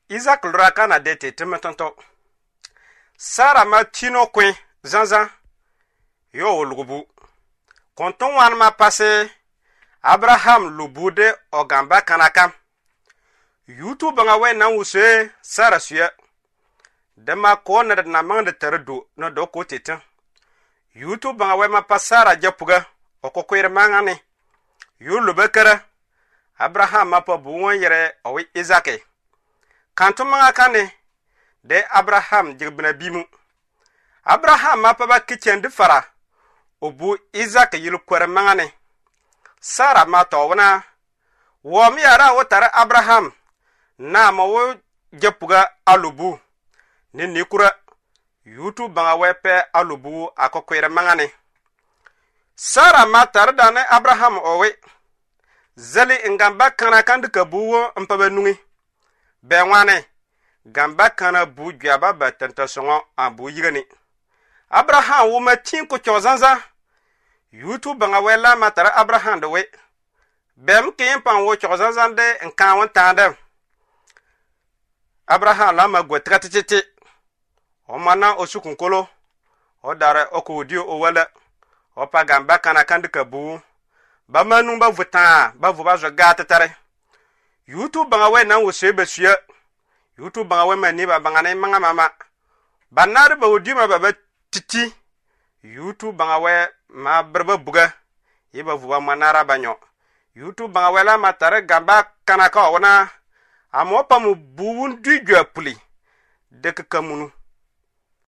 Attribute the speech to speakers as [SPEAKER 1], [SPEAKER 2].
[SPEAKER 1] Isaac lura na dete temetonto. Sara ma tino kwen zanzan. Yo lugubu. Konton wan ma passe Abraham lubude ogamba kanakam. Yutu banga we na wuse Sara suya. Dema ko na mang de terdo na do ko tetan. Yutu banga we ma pasara japuga okokwere mangane. Yu lubekere Abraham ma pa buwon yere owi Isaac. Kanto manga kane de Abraham jigbina bimu. Abraham ma pa ba kitchen de fara obu Isaac yilu kwere mangane. Sara ma tawna wo mi ara wotare Abraham na ma wo japuga alubu ni nikura yutu banga wepe alubu akokwere mangane. Sara ma tardane Abraham owe zeli ngamba kana kandika buwo mpabe nungi benwane gamba kana bu gyaba batanta songo abu yigani. Abraham wo ma tin ko chozanza yutu banga wela matara Abraham de we bem kin pan wo chozanza de nkan won tande. Abraham la ma gwetratete o mana osukunkolo o dare okodi o wala o pa gamba kana kandika bu ba manu ba vuta ba vu ba zo gata tare yutu banga we nan wo sebe suya yutu banga we mani ba banga ne manga mama banar ba odi ma ba titi yutu banga we ma berba buga yiba vu ba manara banyo yutu banga we la matare gamba kana ka ona amo pa mu buun du gwa puli de kamunu